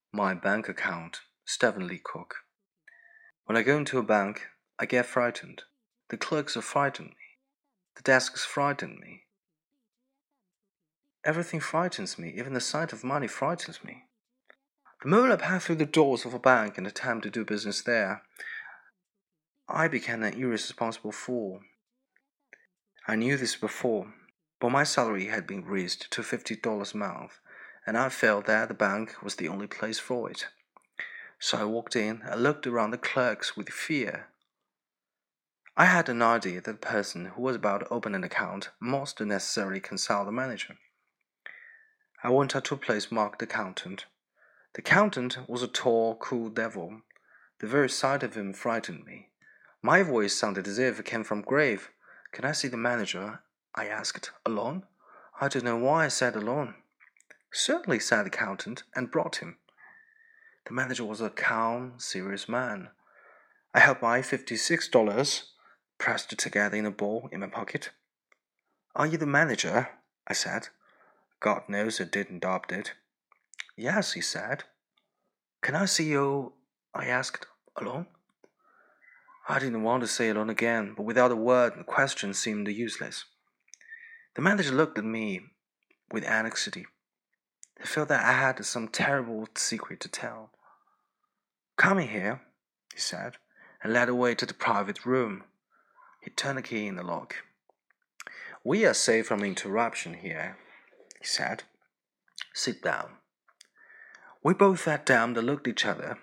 My bank account, Stephen Lee Cook. When I go into a bank, I get frightened. The clerks have frightened me. The desks frighten me. Everything frightens me, even the sight of money frightens me. The moment I pass through the doors of a bank and attempt to do business there, I become an irresponsible fool. I knew this before, but my salary had been raised to $50 a month, and I felt that the bank was the only place for it. So I walked in and looked around the clerks with fear. I had an idea that the person who was about to open an account must necessarily consult the manager. I went out to a place marked accountant. The accountant was a tall, cool devil. The very sight of him frightened me. My voice sounded as if it came from grave. "Can I see the manager?" I asked. "Alone?" I don't know why I said alone. "Certainly," said the accountant, and brought him. The manager was a calm, serious man. I held my $56 pressed together in a ball in my pocket. "Are you the manager?" I said. God knows I didn't doubt it. "Yes," he said. "Can I see you?" I asked. "Alone?" I didn't want to say alone again, but without a word, the question seemed useless. The manager looked at me with anxiety. I felt that I had some terrible secret to tell. "Come in here," he said, and led the way to the private room. He turned the key in the lock. "We are safe from interruption here," he said. "Sit down." We both sat down and looked at each other.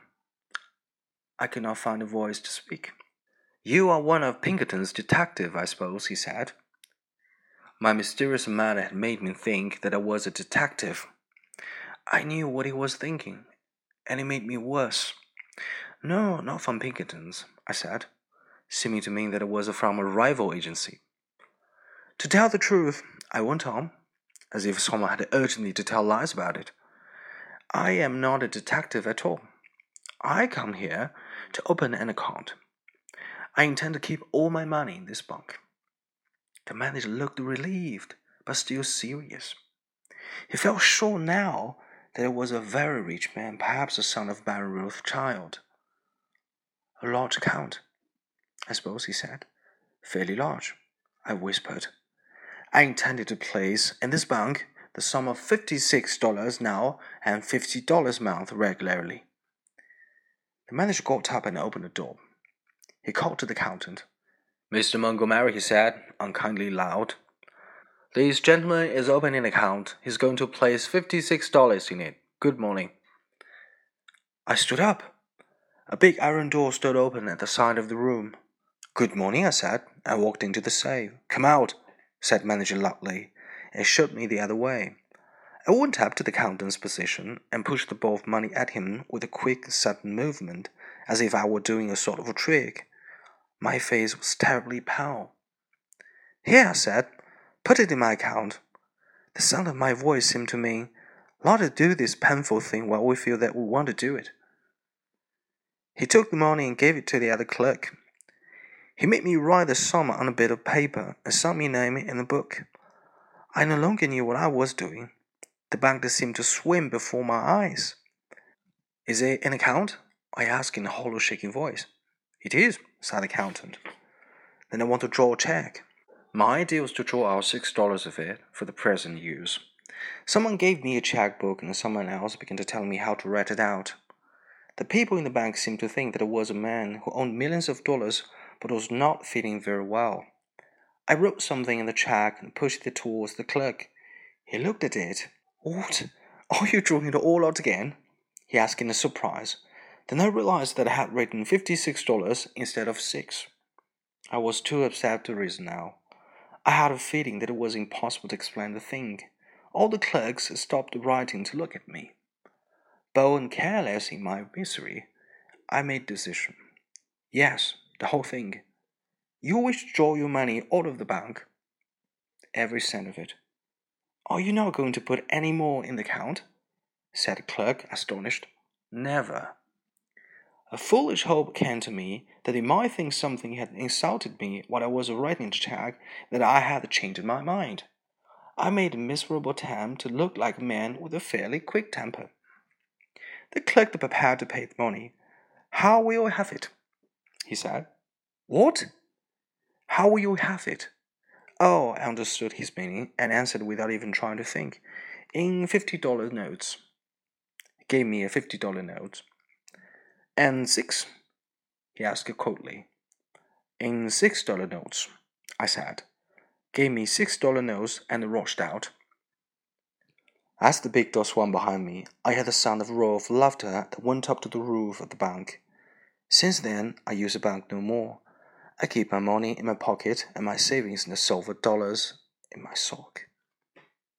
I could not find a voice to speak. "You are one of Pinkerton's detectives, I suppose," he said. My mysterious manner had made me think that I was a detective. I knew what he was thinking, and it made me worse. "No, not from Pinkerton's," I said, seeming to mean that it was from a rival agency. "To tell the truth," I went on, as if someone had urged me to tell lies about it, "I am not a detective at all. I come here to open an account. I intend to keep all my money in this bank." The manager looked relieved, but still serious. He felt sure now that it was a very rich man, perhaps the son of Baron Rothschild. "A large account, I suppose," he said. "Fairly large," I whispered. "I intended to place in this bank the sum of $56 now and $50 a month regularly." The manager got up and opened the door. He called to the accountant. "Mr. Montgomery," he said, unkindly loud, "this gentleman is opening an account. He's going to place $56 in it. Good morning." I stood up. A big iron door stood open at the side of the room. "Good morning," I said. I walked into the safe. "Come out," said the manager loudly, and shoved me the other way. I went up to the accountant's position and pushed the ball of money at him with a quick, sudden movement, as if I were doing a sort of a trick. My face was terribly pale. "Here," I said, "put it in my account." The sound of my voice seemed to mean, "Let us do this painful thing while we feel that we want to do it." He took the money and gave it to the other clerk. He made me write the sum on a bit of paper and signed my name in the book. I no longer knew what I was doing. The bank seemed to swim before my eyes. "Is it an account?" I asked in a hollow, shaking voice. "It is," said the accountant. "Then I want to draw a check." My idea was to draw out $6 of it for the present use. Someone gave me a checkbook and someone else began to tell me how to write it out. The people in the bank seemed to think that I was a man who owned millions of dollars but was not feeling very well. I wrote something in the check and pushed it towards the clerk. He looked at it. "What? Are you drawing it all out again?" he asked in surprise. Then I realized that I had written $56 instead of 6. I was too upset to reason now. I had a feeling that it was impossible to explain the thing. All the clerks stopped writing to look at me. Bold and careless in my misery, I made a decision. "Yes, the whole thing. You wish to draw your money out of the bank?" "Every cent of it." "Are you not going to put any more in the account?" said the clerk, astonished. "Never." A foolish hope came to me that they might think something had insulted me while I was writing the check, that I had changed my mind. I made a miserable attempt to look like a man with a fairly quick temper. The clerk prepared to pay the money. "How will you have it?" he said. "What? How will you have it?" Oh, I understood his meaning and answered without even trying to think. "In $50 notes." He gave me a $50 note. "And six?" he asked coldly. "In $6 notes," I said. Gave me $6 notes and rushed out. As the big door swung behind me, I heard the sound of a roar of laughter that went up to the roof of the bank. Since then, I use the bank no more. I keep my money in my pocket and my savings in the silver dollars in my sock.